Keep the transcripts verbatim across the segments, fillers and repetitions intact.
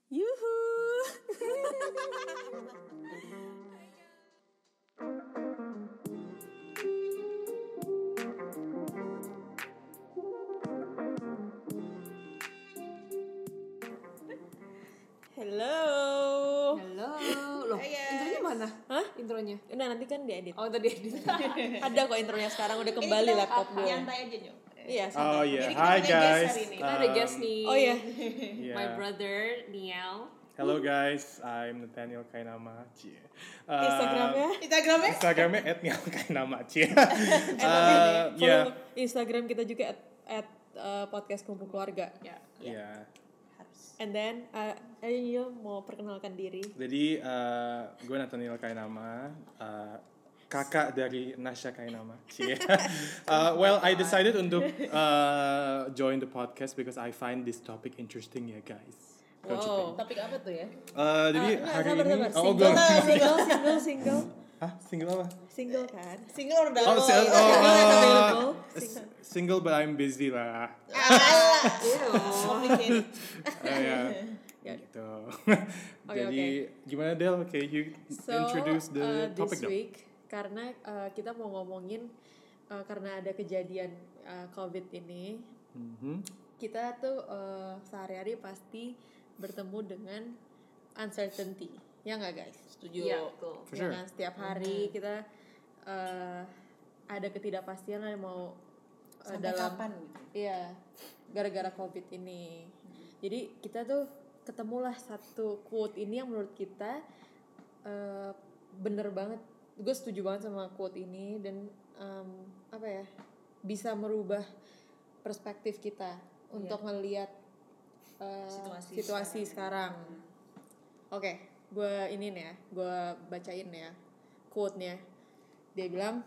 Yuhu. Hello. Halo. Loh, intronya mana? Hah? Intronya? Nah, nanti kan diedit. Oh, tadi edit. Ada kok intronya sekarang udah kembali laptop gue. Nyantai aja Nyok. Iya, Oh santai. yeah, Jadi kita hi punya guest guys. hari ini. Kita ada guest Um, nih. Oh iya. yeah. My brother Niel. Hello guys, I'm Nathaniel Kainama. Cie. Uh, Instagramnya? Instagramnya? Instagramnya at Niel Kainama. Cie. Uh, Uh, yeah. Follow Instagram kita juga at, at uh, podcast kumpul keluarga. Ya. Yeah. Harus. And then, uh, ayo mau perkenalkan diri. Jadi uh, gue Nathaniel Kainama. Uh, kakak dari Nasha Kainama. Cie. uh, well, I decided untuk uh, join the podcast because I find this topic interesting ya guys. Don't you think? Wow. Topik apa tuh ya? Uh, jadi Ah, hari sabar, ini sabar. oh Single, belum. single, single, single, Hah, single apa? single kan? Single udah Oh, double. si- oh, Single is uh, available. s- single but I'm busy lah. Alah. Ew. Complicated. Uh, ya. Ya. Gitu. Oke, Jadi gimana Del? Okay, you So, introduce uh, the topic this dong. week, karena uh, kita mau ngomongin uh, karena ada kejadian uh, COVID ini, Mhm. kita tuh uh, sehari-hari pasti bertemu dengan uncertainty, ya nggak guys? Setuju. Iya, betul. For Ya sure. kan? Setiap hari kita uh, ada ketidakpastian lah mau uh, Sampai dalam kapan gitu? iya gara-gara COVID ini. Jadi kita tuh ketemulah satu quote ini yang menurut kita uh, bener banget. Gue setuju banget sama quote ini dan um, apa ya bisa merubah perspektif kita untuk ngelihat uh, Situasi situasi sekarang. Oke, gue ini nih ya, gue bacain ya quote-nya. Dia bilang,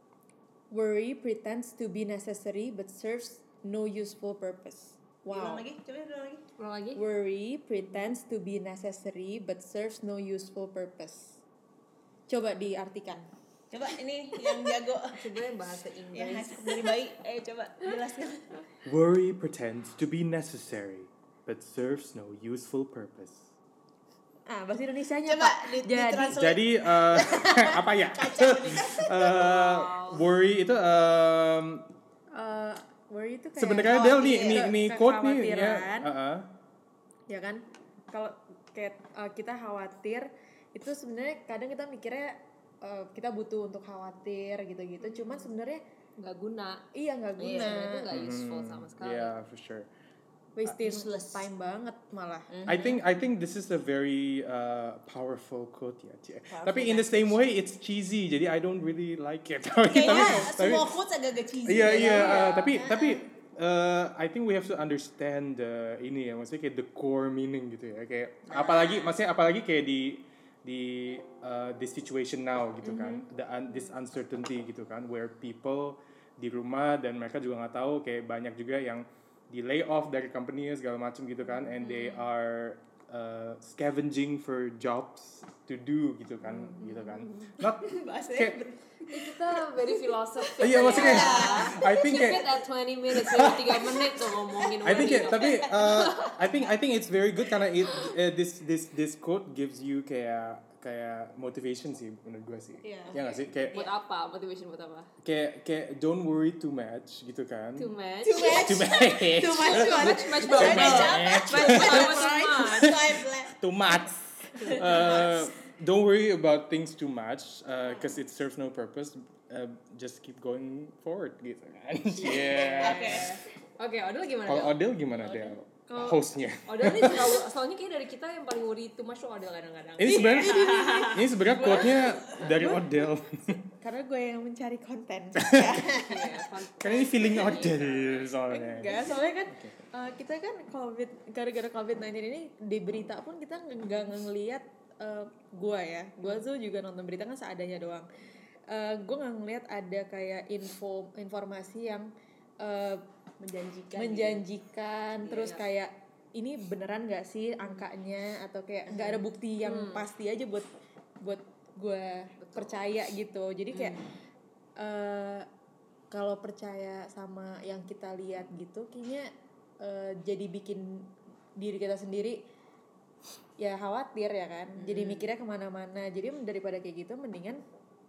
"Worry pretends to be necessary but serves no useful purpose." Ulang Wow. lagi, coba ulang lagi. Ulang lagi? Worry pretends to be necessary but serves no useful purpose. Coba diartikan. Coba ini yang jago. Coba yang bahasa Yang Inggris. hasil dari bayi. Eh coba jelaskan. Worry pretends to be necessary but serves no useful purpose. Ah, bahasa Indonesianya Coba Pak. di- Jadi ditranslate. Jadi uh, apa ya? uh, worry itu um, uh, worry itu kayak sebenarnya Del nih khawatir, nih nih quote nih ya. kekhawatiran. Uh-uh. Ya kan, kalau kayak uh, kita khawatir itu sebenarnya kadang kita mikirnya uh, kita butuh untuk khawatir gitu-gitu, cuman sebenarnya Nggak guna. iya nggak Iya, guna, sebenarnya itu nggak useful sama sekali. Yeah, for sure. wasting useless. time banget malah. I think I think this is a very uh, powerful quote ya, Cie. Tapi in the same way it's cheesy, jadi I don't really like it. tapi Kayaknya tapi semua quotes agak-agak cheesy. iya ya. iya, uh, tapi tapi uh, I think we have to understand the ini ya, maksudnya kayak the core meaning gitu ya, kayak apalagi maksudnya apalagi kayak di di uh, this situation now gitu kan, the un, this uncertainty gitu kan, where people di rumah dan mereka juga nggak tahu, kayak banyak juga yang di lay off dari company segala macam gitu kan, and they are uh, scavenging for jobs to do gitu kan, gitu kan, not kayak Kita very philosophical. iya maksudnya ya. I think Keep kayak it at twenty minutes, jadi tiga menit tuh ngomongin I think worry. ya, tapi uh, I think I think it's very good karena it uh, this this this quote gives you kayak kayak motivation sih menurut gue sih. Iya. Ya nggak sih? Kayak Buat apa? Motivation buat apa? kayak kayak don't worry too much gitu kan. Too much. Too much. Too much. Too much. Too much, much banget. Much. Much. Too much. Uh, don't worry about things too much because it serves no purpose. Uh, just keep going forward gitu kan. Yeah. Oke. Oke, Odel gimana? Kalau Del? Odel gimana Del? Kalau- Hostnya. Odel nih selalu, soalnya kayak dari kita yang paling worry too much tuh Odel kadang-kadang. Ini sebenarnya ini sebenarnya quote-nya dari Odel. Karena gue yang mencari konten. Iya, fun- Karena ini feeling Odel soalnya. Enggak, soalnya kan uh, kita kan COVID, gara-gara covid sembilan belas ini di berita pun kita nggak ngelihat uh, gue ya, gue tuh juga nonton berita kan seadanya doang. Uh, gue nggak ngelihat ada kayak info informasi yang uh, Menjanjikan. menjanjikan, terus Iya. kayak ini beneran nggak sih angkanya atau kayak nggak ada bukti yang pasti aja buat buat gue percaya gitu. Jadi kayak uh, kalau percaya sama yang kita lihat gitu kayaknya uh, jadi bikin diri kita sendiri ya khawatir ya kan. Jadi mikirnya kemana-mana. Jadi daripada kayak gitu mendingan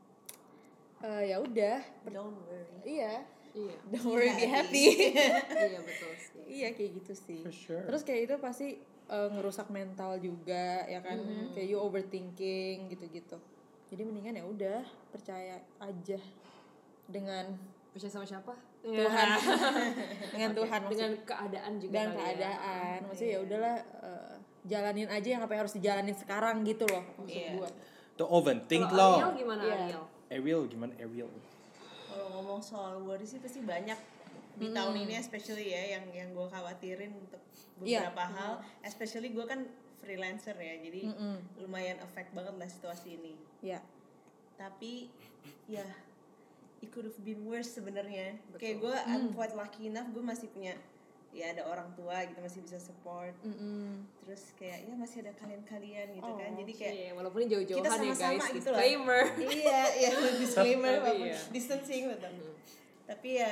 uh, ya udah. Don't worry. Iya. Iya. Don't worry, be happy. Iya betul sih. Iya kayak gitu sih. For sure. Terus kayak itu pasti uh, ngerusak mental juga ya kan. Kayak you overthinking gitu-gitu. Jadi mendingan ya udah percaya aja dengan Percaya sama siapa? Tuhan. dengan Oke, Tuhan dengan maksud- keadaan juga dan kali ya. keadaan. Maksudnya ya udahlah uh, jalanin aja yang apa yang harus dijalanin sekarang gitu loh maksud Iya. gua. Don't overthink Kalau Ariel loh. gimana Iya. Ariel? Ariel gimana Ariel? Kalau ngomong soal worry sih pasti banyak di tahun ini especially ya yang yang gue khawatirin untuk Iya. beberapa hal, especially gue kan freelancer ya, jadi lumayan affect banget lah situasi ini. Ya. Tapi ya it could have been worse sebenarnya. Kayak gue I'm quite lucky enough gue masih punya ya ada orang tua gitu, masih bisa support. Terus kayak ya masih ada kalian-kalian gitu kan. Jadi kayak Iya, walaupun ini jauh-jauhan kita ya sama-sama guys, gitu lah. disclaimer. Iya, iya disclaimer Tapi walaupun iya. distancing betul. Tapi ya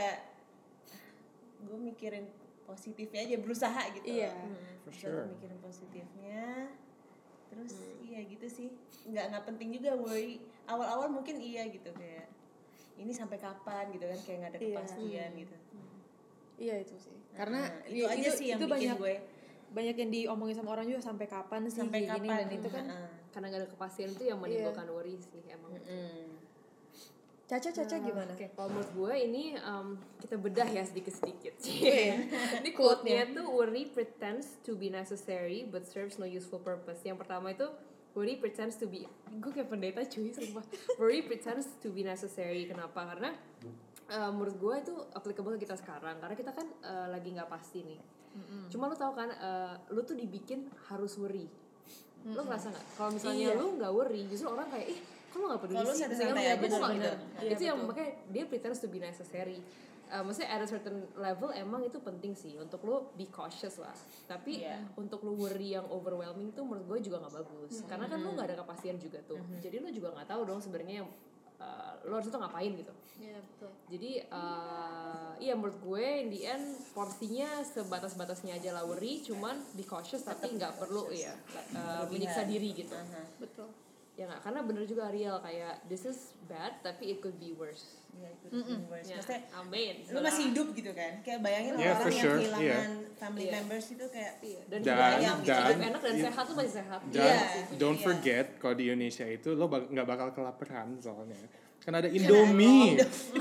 gue mikirin positifnya aja, berusaha gitu. Iya. For Berusaha sure. mikirin positifnya. Terus iya gitu sih. Nggak nggak penting juga worry. Awal-awal mungkin iya gitu kayak ini sampai kapan gitu kan, kayak nggak ada Iya. kepastian gitu. Iya itu sih. Karena Nah, itu aja sih yang itu bikin banyak gue banyak yang diomongin sama orang juga sampai kapan sih sampai kayak gini kapan dan itu kan Heeh. Karena gak ada kepastian itu yang menimbulkan worry sih emang. Mm. Caca Caca gimana? Oke, kalau menurut gue ini um, kita bedah ya sedikit-sedikit. Iya. Ini quote-nya tuh worry pretends to be necessary but serves no useful purpose. Yang pertama itu worry pretends to be, gue kayak pendeta cuy sumpah. Worry pretends to be necessary. Kenapa? Karena uh, menurut gue itu applicable ke kita sekarang. Karena kita kan uh, lagi nggak pasti nih. Mm-hmm. Cuma lu tahu kan, uh, lu tuh dibikin harus worry. Lu ngerasa nggak? Kalau misalnya Iya. lu nggak worry, justru orang kayak ih kok lu nggak peduli Kalau lu sih? santai-santai Misalnya lu aja, nggak gitu. bener-bener. Iya, Itu yang betul. makanya dia pretends to be necessary. Uh, maksudnya at a certain level emang itu penting sih untuk lu be cautious lah. Tapi Iya. untuk lu worry yang overwhelming tuh menurut gue juga nggak bagus. Karena kan lu nggak ada kepastian juga tuh. Jadi lu juga nggak tahu dong sebenarnya yang uh, lu harus tuh ngapain gitu. Iya betul. Jadi uh, iya menurut gue in the end porsinya sebatas-batasnya aja lah worry, cuman be cautious tapi nggak perlu ya uh, menyiksa diri gitu. Betul. Ya nggak, karena bener juga Ariel kayak this is bad tapi it could be worse. Ya, itu the worst. Ya, Maksudnya amin. lu masih hidup gitu kan, kayak bayangin Yeah, orang for yang sure. kehilangan family Iya. members itu kayak Iya. Dan, Dan- hidup enak, dan- hidup enak dan sehat tuh masih sehat. Dan Iya. don't Iya. forget kalau di Indonesia itu lo bak- nggak bakal kelaparan soalnya. Kan ada Indomie.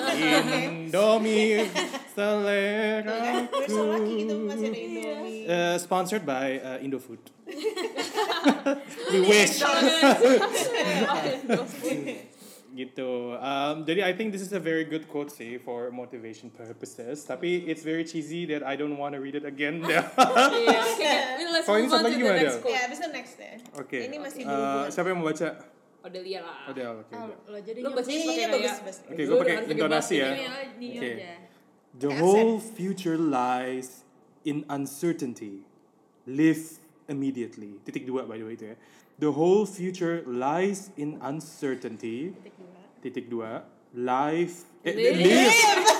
Indomie selera we're so lucky gitu masih ada Indomie. Uh, sponsored by uh, Indofood. We wish. Gitu. Um, jadi I think this is a very good quote sih for motivation purposes. Tapi it's very cheesy that I don't want to read it again. Iya, oke. Let's Kalau ini move on satu to lagi the gimana, next Del? quote. Ya, abis itu next ya. Oke. Ini masih Uh, berhubungan. siapa yang mau baca? Odelia lah. Oh, Del. Oke. Oh, Del. lo jadi Lu bacanya Ini pakai bagus, kayak bagus. Oke, Lu gue pakai udah harus intonasi ya. ini ini Oke. aja. The whole future lies in uncertainty. Live immediately. Titik dua by the way itu ya. The whole future lies in uncertainty. Titik dua. Life. Eh, Live. live.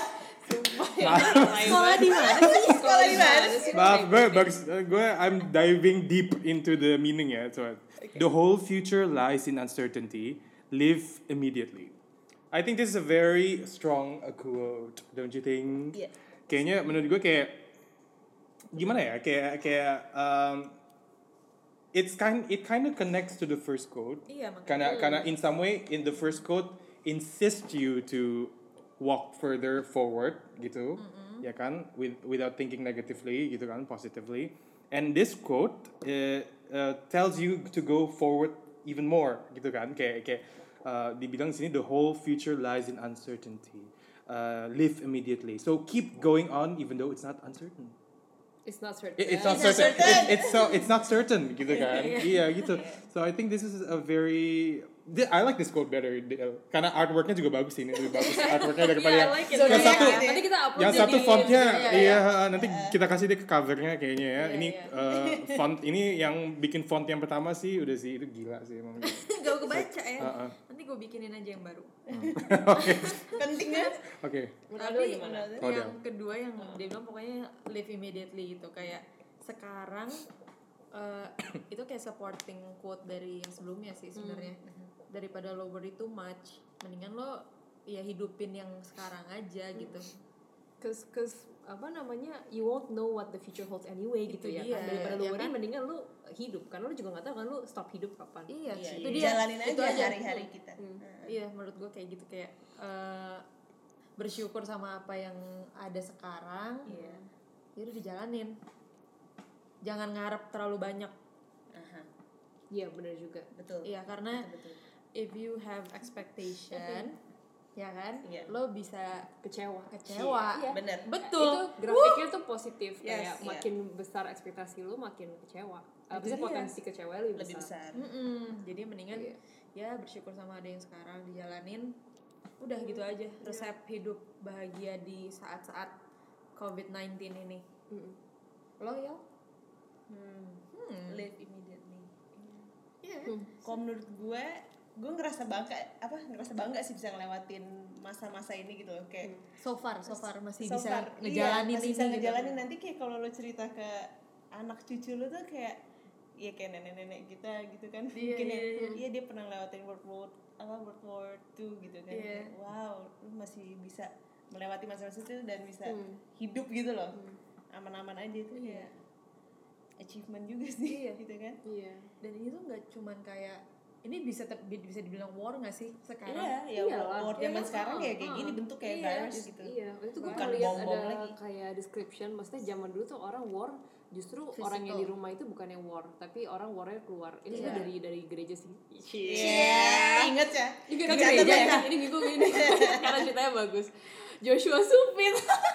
Sekolah di mana sih? Sekolah di mana sih? Maaf, gue bagus. Gue I'm diving deep into the meaning ya. So, the whole future lies in uncertainty. Live immediately. I think this is a very strong uh, quote, don't you think? Iya. Kayaknya menurut gue kayak gimana ya? Kayak kayak um, it's kind it kind of connects to the first quote. Iya, makanya. Karena karena in some way in the first quote insist you to walk further forward gitu, ya kan, with without thinking negatively gitu kan, positively. And this quote uh, uh, tells you to go forward even more gitu kan, kayak kayak uh, dibilang di sini the whole future lies in uncertainty. Uh, live immediately. So keep going on even though it's not uncertain. It's not certain. It, it's not It's not certain. certain. It, it's so it's not certain gitu kan. Iya gitu. So I think this is a very thi- I like this quote better uh, karena artworknya juga bagus sih, ini lebih bagus artworknya daripada Iya, I yang like it. yang Zodiac satu gitu ya. Nanti kita upload yang jadi satu fontnya Iya, iya, iya. nanti kita kasih deh ke covernya kayaknya ya. Ini iya. uh, font ini yang bikin font yang pertama sih udah sih itu gila sih emang. Gak kebaca ya. Uh-uh. Nanti gue bikinin aja yang baru. Pentingnya Oke. Menurut lu Tapi gimana? Oh, yang Del. kedua yang dia bilang pokoknya live immediately gitu, kayak sekarang eh, itu kayak supporting quote dari yang sebelumnya sih sebenarnya. Daripada lo worry too much, mendingan lo ya hidupin yang sekarang aja gitu. Cause, cause apa namanya, you won't know what the future holds anyway Itu gitu ya dia, kan. Daripada lu ya worry, kan? mendingan lu hidup, karena lu juga nggak tahu kan lu stop hidup kapan. Iya, Iya, itu iya. dia. Jalanin itu aja aja hari-hari kita. Hmm. Heeh. Iya, menurut gue kayak gitu, kayak eh, bersyukur sama apa yang ada sekarang. Iya. Ya udah dijalanin. Jangan ngarep terlalu banyak. Aha, Iya benar juga. betul. Iya, karena Betul, betul. if you have expectation, ya kan, Iya. lo bisa Kecewa. kecewa. Iya. Bener. Betul. Itu grafiknya tuh positif, Yes, kayak iya. makin besar ekspektasi lu makin kecewa. Itu Maksudnya dia. potensi kecewa lebih, Lebih besar. Mm-mm. Jadi mendingan Iya. ya bersyukur sama ada yang sekarang dijalanin. Udah gitu aja. Resep hidup bahagia di saat-saat covid sembilan belas ini. Mm-mm. Lo ya? Hmm. Hmm. Live immediately. Iya. Hmm. Kalau menurut gue, gue ngerasa bangga, apa ngerasa bangga sih bisa ngelewatin masa-masa ini gitu loh, kayak So far, so far masih so bisa far, ngejalanin iya, masih ini bisa gitu. ngejalanin. Nanti kayak kalau lo cerita ke anak cucu lo tuh kayak ya kayak nenek-nenek kita gitu kan, Iya, mungkin iya, ya, iya. iya dia pernah lewatin World War apa World War Two gitu kan, Iya. kayak, wow lu masih bisa melewati masa-masa itu dan bisa Hmm. hidup gitu loh, aman-aman aja itu Iya. kayak achievement juga sih, Iya. gitu kan. Iya. Dan ini tuh nggak cuman kayak ini bisa ter- bisa dibilang war nggak sih sekarang? Iya, ya Iyalah. war zaman Iya, sekarang oh, kayak kayak oh. gini bentuk kayak Iya, virus gitu. Iya, waktu itu gue Bukan ngeliat bom-bom ada lagi. kayak description, maksudnya zaman dulu tuh orang war justru Physical. orang yang di rumah itu bukan yang war, tapi orang warnya keluar. Ini Iya. sebenarnya dari dari gereja sih. Iya, inget ya. Ini Kan gereja catat ya, ya. ini gue ini karena ceritanya bagus. Joshua Supit.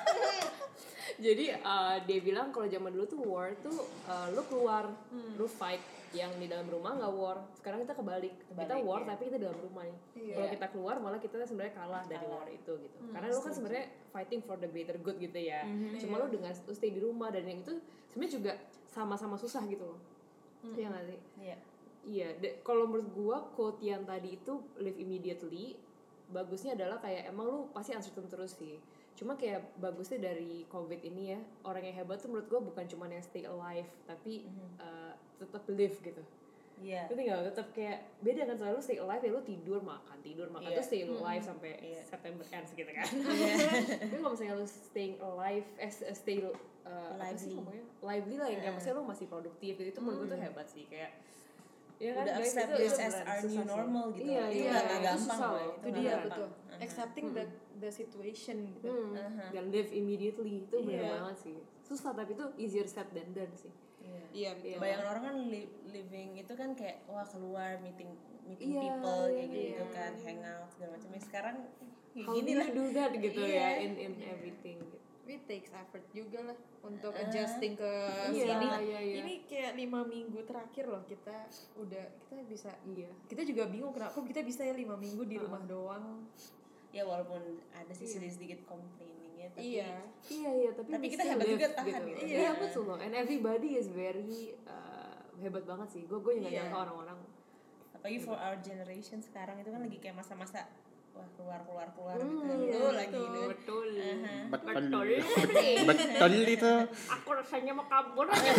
Jadi uh, dia bilang kalau zaman dulu tuh war tuh uh, lu keluar, Hmm. lu fight, yang di dalam rumah nggak war. Sekarang kita kebalik, kita Kebalik, war ya. tapi kita dalam rumah nih. Iya. Kalau kita keluar malah kita sebenarnya kalah dari Kalah. war itu gitu. Hmm, Karena lu kan sebenarnya fighting for the greater good gitu ya. Mhm. Cuma Iya. lu dengan lu stay di rumah, dan yang itu sebenarnya juga sama-sama susah gitu loh. Iya nggak sih? Iya. Iya, de- kalau menurut gua quote yang tadi itu live immediately, bagusnya adalah kayak emang lu pasti uncertain terus sih. Cuma kayak bagusnya dari covid ini ya, orang yang hebat tuh menurut gua bukan cuma yang stay alive, tapi uh, tetap live gitu. Iya. Ngerti nggak? Tetap kayak beda kan, selalu stay alive ya lu tidur makan tidur makan Iya. tuh stay alive sampai Iya. September ends gitu kan. Iya. Tapi kalau misalnya lu staying alive, eh stay uh, apa sih Lively. ngomongnya? Lively lah, yang kayak maksudnya lu masih produktif gitu, itu menurut gua tuh hebat sih kayak. Ya kan, Udah guys, accept itu- this itu as beneran our susah new sih. normal gitu. Iya, Itu iya, nggak- nggak itu gampang susah loh, loh. itu Itu nggak dia gampang. betul. Uh-huh. Accepting the the situation gitu. Hmm. Aha. Dan live immediately itu bener Iya. banget sih. Susah tapi itu easier said than done sih. Iya. Iya, Iya. Bayangan orang kan li- living itu kan kayak wah keluar meeting meeting Iya, people iya, kayak gitu iya. kan, hangout segala macam. Ya, sekarang kayak How gini do lah. you do that gitu Iya. ya in in everything gitu. It takes effort juga lah untuk Uh, adjusting ke Iya, sini. iya, iya. Ini kayak lima minggu terakhir loh kita udah kita bisa. Iya. Kita juga bingung kenapa kita bisa ya lima minggu di rumah doang. Ya walaupun ada sih Iya. sedikit-sedikit complainingnya tapi Iya. Iya iya tapi, Tapi we kita still hebat live juga tahan gitu. gitu. Iya, Iya. betul loh. And everybody is very uh, hebat banget sih. Gue gue juga Iya. nyangka orang-orang. apalagi for our generation sekarang itu kan lagi kayak masa-masa wah keluar keluar keluar Hmm, gitu. iya, Lu lagi betul. gitu. Betul. Aha. Betul. Betul. Betul itu. Aku rasanya mau kabur aja.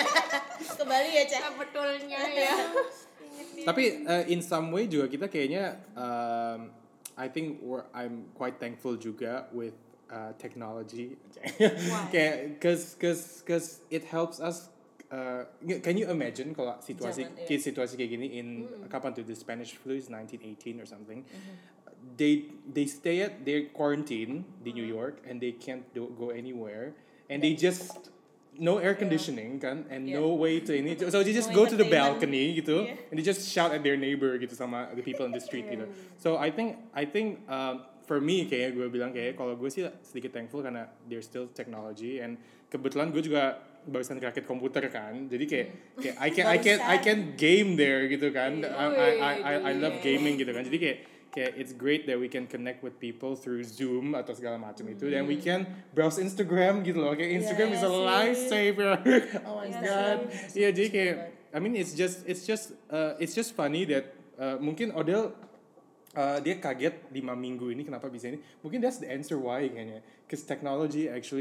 Ke Bali ya, Cak. Betulnya ya. Tapi uh, in some way juga kita kayaknya um, I think we're, I'm quite thankful juga with uh, technology. Kayak cause cause cause it helps us. Uh, can you imagine kalau situasi Zaman, iya. kayak situasi kayak gini in kapan tuh the Spanish flu is nineteen eighteen or something. They they stay at their quarantine di New York and they can't do, go anywhere and they just no air conditioning kan and no way to ini so they just No go to the entertainment. balcony gitu Yeah. and they just shout at their neighbor gitu sama the people in the street gitu. So I think I think um, for me kayak gue bilang kayak kalau gue sih sedikit thankful karena there's still technology and kebetulan gue juga barusan rakit komputer kan jadi kayak kayak I can I can I can game there gitu kan I I I, I, I love gaming gitu kan jadi kayak kayak it's great that we can connect with people through Zoom atau segala macam itu dan we can browse Instagram gitu loh kayak Instagram is a Iya sih. lifesaver Oh my god God. iya jadi kayak I mean it's just it's just uh, it's just funny that uh, mungkin Odell uh, dia kaget lima minggu ini kenapa bisa ini mungkin that's the answer why kayaknya because technology actually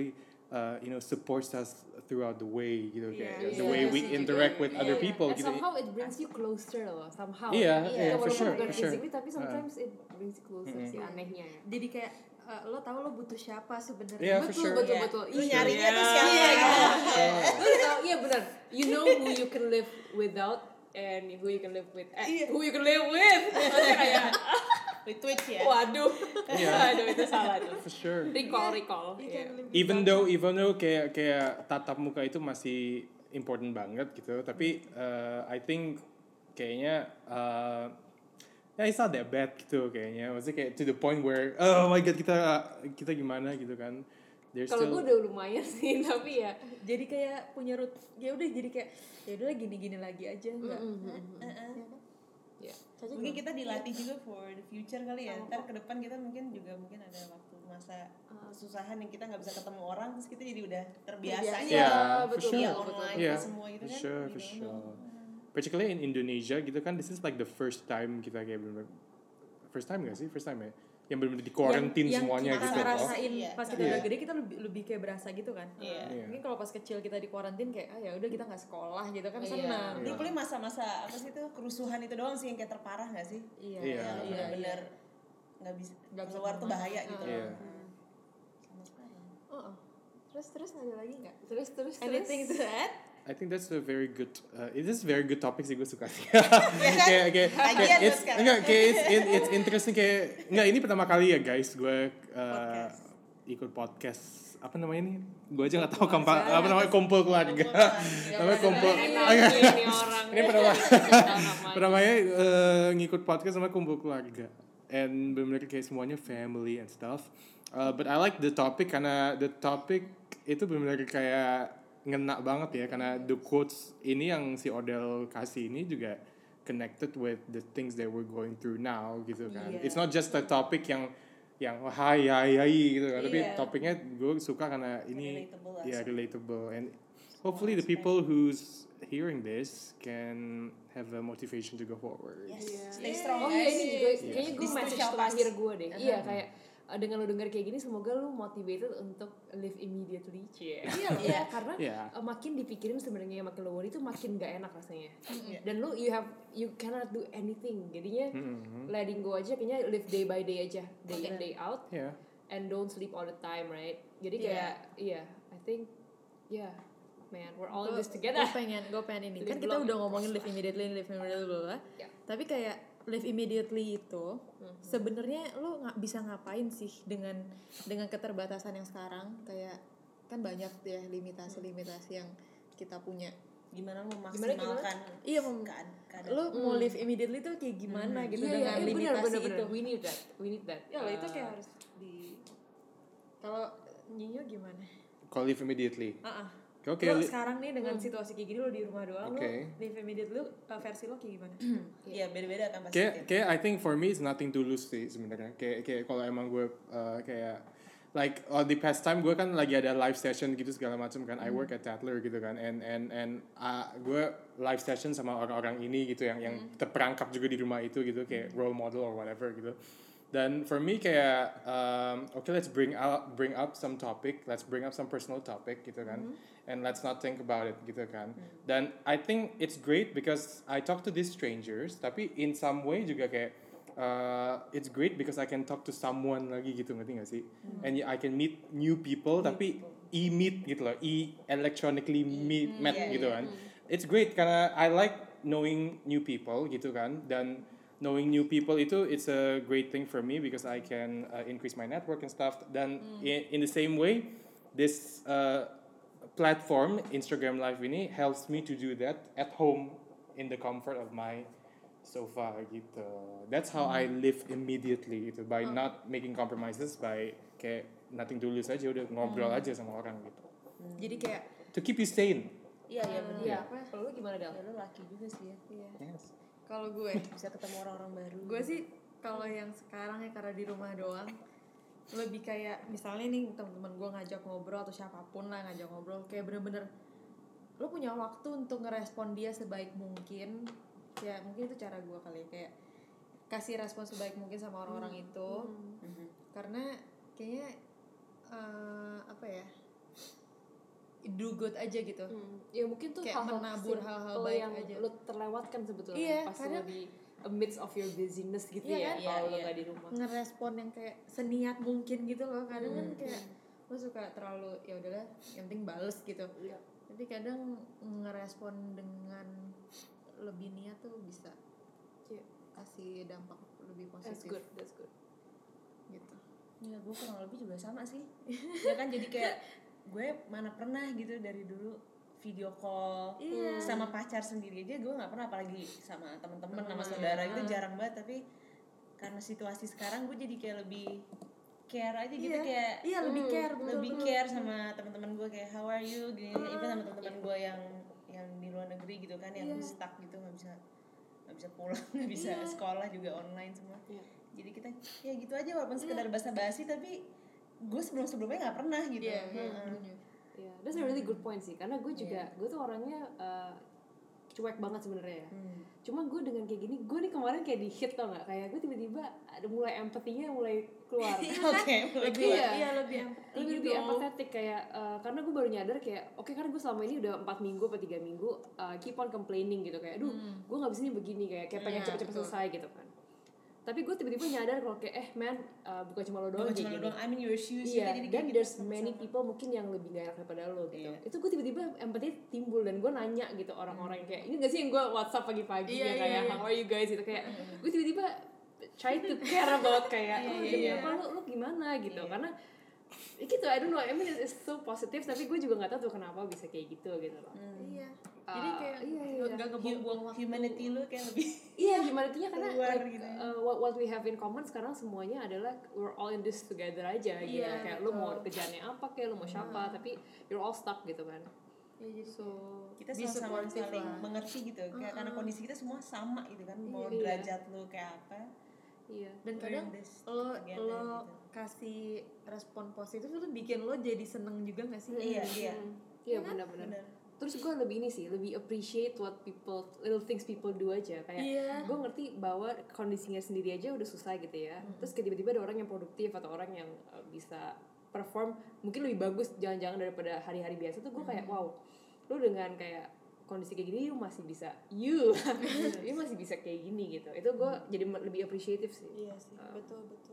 uh, you know supports us throughout the way gitu kayak Iya, the iya, way iya we sih, interact juga. with Iya, other iya. people And gitu. somehow it brings you closer loh, somehow. Iya, iya, Ya, for walaupun sure, bukan for sure. physically, tapi sometimes it brings you closer Mm-mm. sih anehnya ya. Jadi kayak uh, lo tahu lo butuh siapa sebenarnya. Iya, for Betul, sure. betul, Iya. betul. Lu Iya. nyarinya tuh siapa Iya, gitu. iya. Lu tahu, iya benar. You know who you can live without and who you can live with. Eh, Iya. who you can live with. Maksudnya kayak, Retweet ya. waduh. Iya. Aduh, itu salah tuh. For sure. Recall, recall. You Iya. can live Even without though even though kayak kayak tatap muka itu masih important banget gitu, tapi uh, I think kayaknya uh, ya it's not that bad gitu kayaknya. Maksudnya kayak to the point where oh my god kita kita gimana gitu kan. There's Kalau still gue udah lumayan sih, tapi ya. jadi kayak punya root ya udah jadi kayak ya udah gini-gini lagi aja enggak. Heeh. Ya. Caca Mungkin gimana? kita dilatih juga for the future kali ya. Ntar ke depan kita mungkin juga mungkin ada waktu masa kesusahan yang kita nggak bisa ketemu orang, terus kita jadi udah terbiasa Terbiasa. aja. Iya, Yeah, for betul, sure. Via betul, online betul. Yeah, semua gitu for kan. sure, you for don't sure. know. Particularly in Indonesia gitu kan, this is like the first time kita kayak bener first time gak sih? First time ya? Yang bener-bener di quarantine yang, semuanya yang kita gitu loh. ngerasain Iya. pas kita Iya. udah gede kita lebih lebih kayak berasa gitu kan. Iya. Iya. Mungkin kalau pas kecil kita di kuarantin kayak ah ya udah kita nggak sekolah gitu kan Iya. senang. Dulu paling masa-masa apa sih itu kerusuhan itu doang sih yang kayak terparah nggak sih? Iya. Iya. Yang Iya. benar-benar nggak bisa Nggak bisa keluar tuh kemana. bahaya gitu. Iya. Sama sekarang. Oh, oh. Terus terus ada lagi nggak? Terus, terus, terus. Anything to add? I think that's a very good. Uh, it is very good topic sih gue suka sih. kan? kayak kayak Lagian kayak lu it's sekarang. enggak kayak it's, it, it's interesting kayak enggak ini pertama kali ya guys gue uh, Podcast. ikut podcast apa namanya nih? Gue aja nggak tahu kampa, apa namanya kumpul keluarga. namanya kumpul. Enak ini orang. Ini pertama Namanya. pertamanya uh, ngikut podcast sama kumpul keluarga. And benar-benar kayak semuanya family and stuff. Uh, but I like the topic karena the topic itu benar-benar kayak ngena banget ya karena the quotes ini yang si Odell kasih ini juga connected with the things that we're going through now gitu kan. Iya. It's not just a topic yang yang hai hai hai gitu kan, tapi Iya. topiknya gue suka karena ini Relatable lah. ya relatable and hopefully the people who's hearing this can have a motivation to go forward. Yes. Iya. Stay strong Oh guys. iya ini juga Yes. kayaknya gue This message too shall terakhir pass. gue deh. Iya kayak uh, dengan lo denger kayak gini semoga lo motivated untuk live immediately cie. Iya iya karena Iya. uh, makin dipikirin sebenarnya makin lo worry itu makin gak enak rasanya. Iya. Dan lo you have you cannot do anything. Jadinya Mhm. letting go aja kayaknya live day by day aja, day in day out Yeah. and don't sleep all the time, right? Jadi Iya. kayak iya, I think yeah, man, we're all in Gue this together. pengen, gue pengen ini. Live Kan kita long. udah ngomongin live immediately, live immediately bla bla. Ya. Tapi kayak live immediately itu Mhm. sebenarnya lo nggak bisa ngapain sih dengan dengan keterbatasan yang sekarang kayak kan banyak ya limitasi-limitasi yang kita punya. Gimana lu Gimana, memaksimalkan Iya, mem- keadaan, keadaan. Lo mau live immediately tuh kayak gimana gitu Iya, dengan iya, iya, benar, limitasi benar, itu. benar. We need that, we need that. Ya lo itu Uh, kayak harus di kalau Nyinyo gimana? Call live immediately. Ah, ah. Oke. Lo li- sekarang nih dengan situasi kayak gini lo di rumah doang, Oke. lo live immediately lo uh, versi lo kayak gimana? Iya, beda-beda kan pasti. Kayak, kayak I think for me it's nothing to lose sih sebenarnya. Kayak, kayak kalau emang gue uh, kayak like uh, the past time gue kan lagi ada live session gitu segala macam kan. I work at Tatler gitu kan. And and and uh, gue live session sama orang-orang ini gitu yang yang terperangkap juga di rumah itu gitu kayak role model or whatever gitu. Dan for me kayak um, okay let's bring out bring up some topic, let's bring up some personal topic gitu kan. And let's not think about it gitu kan. Dan I think it's great because I talk to these strangers tapi in some way juga kayak uh, it's great because I can talk to someone lagi gitu ngerti gak sih? And I can meet new people tapi e-meet gitu loh, e-electronically meet met yeah, gitu kan. It's great karena I like knowing new people gitu kan dan knowing new people itu it's a great thing for me because I can uh, increase my network and stuff dan in, in the same way this uh, platform Instagram Live ini helps me to do that at home in the comfort of my sofa gitu. That's how I live immediately gitu by not making compromises by kayak nothing to lose aja udah ngobrol aja sama orang gitu. Jadi kayak To keep you sane. Iya, iya benar. Iya, apa? kalau lu gimana Del? Ya lu laki juga sih ya. Iya. Yes. Kalau gue, Bisa ketemu orang-orang baru. gue sih kalau yang sekarang ya karena di rumah doang lebih kayak misalnya nih teman-teman gue ngajak ngobrol atau siapapun lah ngajak ngobrol kayak bener-bener lo punya waktu untuk ngerespon dia sebaik mungkin ya mungkin itu cara gue kali ya, kayak kasih respon sebaik mungkin sama orang-orang itu Mhm. karena kayaknya eh, apa ya do good aja gitu. Hmm. Ya mungkin tuh Kayak hal-hal menabur simple hal-hal baik yang aja. lo terlewatkan sebetulnya Iya, pas karena- lo di amidst of your busyness gitu Iya ya kan? kalau Iya, lo iya. nggak di rumah. Ngerespon yang kayak seniat mungkin gitu loh. Kadang kan Hmm. kayak lo suka terlalu ya udahlah yang penting bales gitu. Iya. Tapi kadang ngerespon dengan lebih niat tuh bisa Iya. kasih dampak lebih That's positif good, that's good. gitu. Ya gue kurang lebih juga sama sih. Ya kan jadi kayak gue mana pernah gitu dari dulu video call Iya. sama pacar sendiri aja gue nggak pernah, apalagi sama temen-temen sama Temen, saudara ya. gitu jarang banget. Tapi karena situasi sekarang gue jadi kayak lebih care aja gitu, Iya. kayak Iya, lebih Hmm, care, betul, lebih betul. care sama teman-teman gue kayak how are you gini, even sama teman-teman gue yang yang di luar negeri gitu kan, yang Iya. stuck gitu nggak bisa nggak bisa pulang, nggak bisa Iya. sekolah juga online semua. Iya. Jadi kita ya gitu aja walaupun sekedar basa-basi, tapi gue sebelum-sebelumnya nggak pernah gitu. Iya, iya, Heeh. setuju. Iya, that's a really good point sih. Karena gue juga, gue tuh orangnya uh, cuek banget sebenarnya ya. Hmm. Cuma gue dengan kayak gini, gue nih kemarin kayak di hit tau nggak? Kayak gue tiba-tiba ada mulai empatinya mulai keluar. Oke, mulai Lebih keluar. iya lebih empati lebih gitu. lebih empathetic kayak uh, karena gue baru nyadar kayak oke karena gue selama ini udah empat minggu atau tiga minggu uh, keep on complaining gitu kayak aduh gue nggak bisa nih begini kayak kayak pengen Iya, cepet-cepet betul. selesai gitu kan. Tapi gue tiba-tiba nyadar kalau kayak eh man uh, bukan cuma lo doang Bukan kayak cuma gini. lu doang, I'm in your shoes. Iya, ya, jadi dan kayak there's gitu many sama-sama. people mungkin yang lebih gak enak daripada lo gitu. Iya. Itu gue tiba-tiba empati timbul dan gue nanya gitu orang-orang yang kayak ini gak sih yang gue WhatsApp pagi-pagi Iya, ya iya, kayak iya. how are you guys gitu kayak gue tiba-tiba try to care about kayak Iya, oh, iya, demi iya. apa lo lo gimana gitu Iya. karena ya gitu I don't know I mean it's so positive tapi gue juga nggak tahu tuh kenapa bisa kayak gitu gitu loh. Iya. Uh, Jadi kayak iya, iya. nggak ngebuang-buang waktu. Humanity lu kayak lebih Iya humanity-nya karena Keluar like, gitu. uh, what, what we have in common sekarang semuanya adalah we're all in this together aja gitu Iya, kayak lu mau betul. kerjaannya apa kayak lu mau siapa tapi you're all stuck gitu kan. Ya, jadi So kita Be sama-sama supportive saling lah. mengerti gitu, kayak karena kondisi kita semua sama gitu kan, mau Iya. derajat lu kayak apa. iya. dan We're kadang in this lo together lo gitu. kasih respon positif itu bikin lo jadi seneng juga gak sih? Iya, iya. Hmm. Iya benar-benar. Bener. Terus gue lebih ini sih, lebih appreciate what people, little things people do aja. Kayak Iya. gue ngerti bahwa kondisinya sendiri aja udah susah gitu ya. Terus kayak tiba-tiba ada orang yang produktif atau orang yang uh, bisa perform mungkin lebih bagus jangan-jangan daripada hari-hari biasa tuh gue kayak wow, lu dengan kayak kondisi kayak gini lu masih bisa you, you masih bisa kayak gini gitu. Itu gue jadi lebih appreciative sih. Iya sih, Um, betul betul.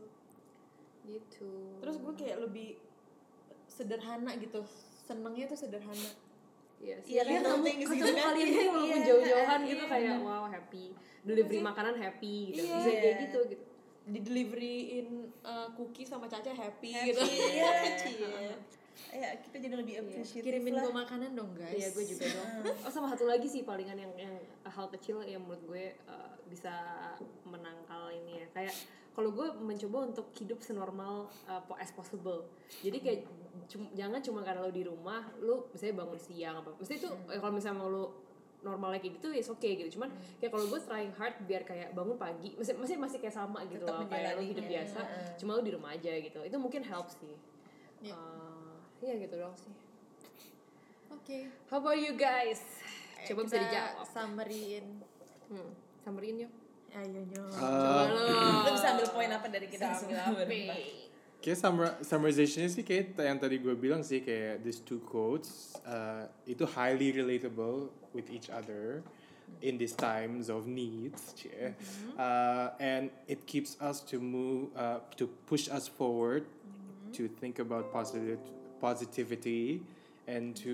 Gitu. Terus gue kayak lebih sederhana gitu, senengnya tuh sederhana. Iya sih. Iya, Kayak little ketemu, things gitu ketemu kan. kalian gitu walaupun Iya, jauh-jauhan iya, gitu iya, kayak bener. wow happy. Delivery makanan happy gitu. Iya. Bisa kayak gitu gitu. Di deliveryin uh, cookie sama Caca happy, Happy, gitu. iya. Cie. Ya kita jadi lebih appreciative Kirimin lah. gue makanan dong guys. Iya gue juga dong. Oh sama satu lagi sih palingan yang yang hal kecil yang menurut gue uh, bisa menangkal ini ya. Kayak kalau gue mencoba untuk hidup senormal uh, as possible. Jadi kayak cum- jangan cuma karena lo di rumah, lo misalnya bangun siang apa. Mesti itu eh, kalau misalnya lo normalnya kayak gitu ya oke okay, gitu. Cuman kayak kalau gue trying hard biar kayak bangun pagi, masih masih masih kayak sama gitu Tetap loh kayak lo menjalaninya. hidup biasa. Heeh. Cuma lo di rumah aja gitu. Itu mungkin help sih. Iya. Uh, Iya gitu dong sih. Oke. How about you guys? Coba bisa Kita dijawab. Summary-in. Hmm, summarin yuk. Ayo nyo. Coba lo. Lu bisa ambil poin apa dari kita semua berempat? Kayak summar- summarization-nya sih kayak t- yang tadi gue bilang sih kayak these two quotes uh, itu highly relatable with each other in these times of needs, cie. Uh, and it keeps us to move uh, to push us forward to think about positive positivity and to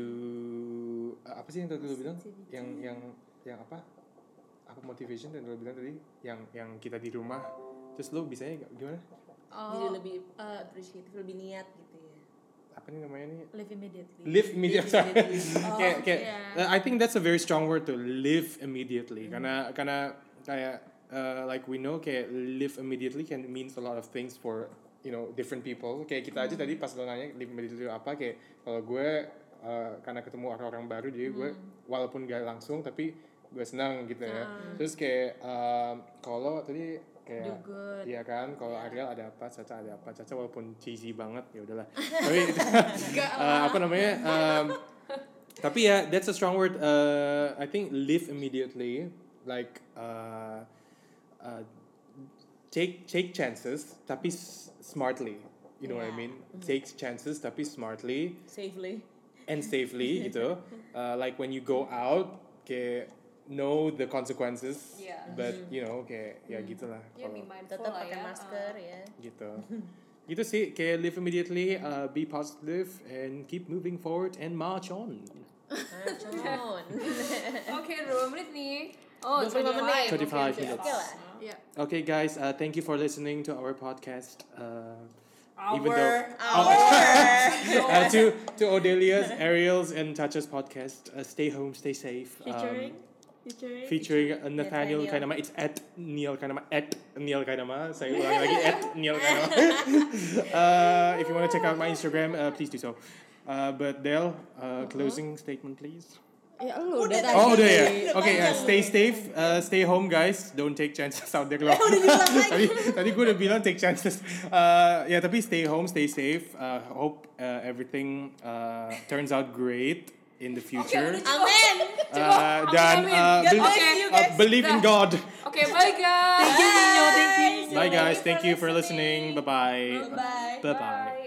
uh, apa sih yang tadi lo bilang yang yang yang apa apa motivation yang lo bilang tadi yang yang kita di rumah terus lo bisanya gimana? Jadi lebih uh, appreciative, lebih niat gitu ya. Apa nih namanya nih? Live immediately. Live immediately. Sorry. Oh, kayak kayak yeah. uh, I think that's a very strong word to live immediately. Karena karena kayak uh, like we know kayak live immediately can means a lot of things for you know different people. Kayak kita aja tadi pas lo nanya live immediately apa kayak kalau gue uh, karena ketemu orang-orang baru jadi gue walaupun gak langsung tapi gue senang gitu ya. Terus kayak um, kalau tadi kayak Do good. iya kan kalau Ariel ada apa Caca ada apa Caca walaupun cheesy banget ya udahlah tapi uh, apa namanya um, tapi ya that's a strong word uh, I think live immediately like uh, uh, take take chances tapi s- smartly you know what I Yeah. mean take chances tapi smartly Safely. and safely gitu. Uh, like when you go out, kayak know the consequences. Yeah. But you know, kayak ya gitulah. Ya, be Kalau mindful Tetap lah pakai ya. masker Uh, ya. gitu. Gitu sih, kayak live immediately, uh, be positive, and keep moving forward and march on. Macon. Oke, dua menit nih. Oh, dua puluh lima menit. twenty-five Oke, oke, minutes. Oke lah. Yeah. Okay, guys, uh, thank you for listening to our podcast. Uh, Our, even though Our. uh, to to Odelia's, Ariel's, and Chacha's podcast, uh, stay home, stay safe. Um, Featuring? Featuring? featuring uh, Nathaniel Nathaniel. Kainama. It's at Neil Kainama. At Neil Kainama. Saya ulang lagi at Neil Kainama. uh, if you want to check out my Instagram, uh, please do so. Uh, but Del, uh, closing statement, please. Ya lu Udah udah tadi. tadi. Oh, udah ya. Udah Oke, uh, panjang. stay safe, uh, stay home, guys. Don't take chances out there. Kalau tadi tadi gue udah bilang take chances. Uh, ya tapi stay home, stay safe. Uh, hope uh, everything uh, turns out great in the future. Amin. Uh, dan Amin. uh, God be- bless you, uh, guys. believe in God. Oke, bye guys. Thank you, Nino. Thank you. Bye guys. Thank you for listening. Bye bye. Bye. Bye bye.